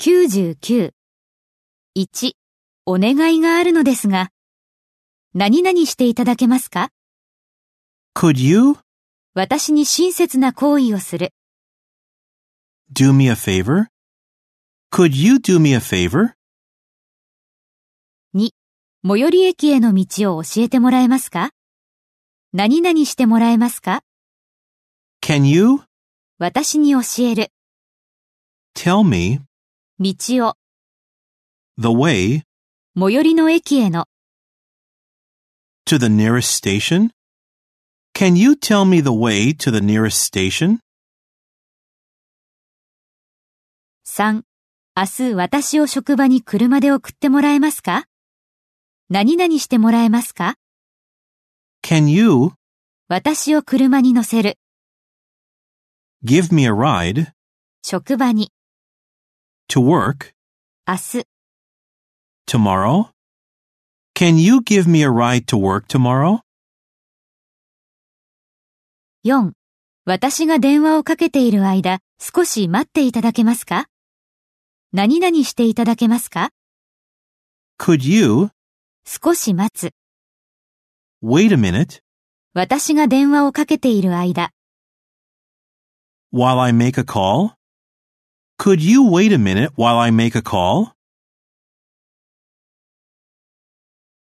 99。1、お願いがあるのですが、何々していただけますか？ Could you 私に親切な行為をする。 do me a favor? Could you do me a favor? 2、最寄り駅への道を教えてもらえますか？何々してもらえますか？ Can you 私に教える。 tell me 道を、 the way 最寄りの駅への。 to the nearest station? Can you tell me the way to the nearest station? 3、明日私を職場に車で送ってもらえますか？何々してもらえますか？ Can you 私を車に乗せる。 give me a ride 職場に。 to work 明日。 tomorrow? Can you give me a ride to work tomorrow? 4、私が電話をかけている間、少し待っていただけますか？何々していただけますか？ Could you 少し待つ。 wait a minute 私が電話をかけている間。 while I make a call? Could you wait a minute while I make a call?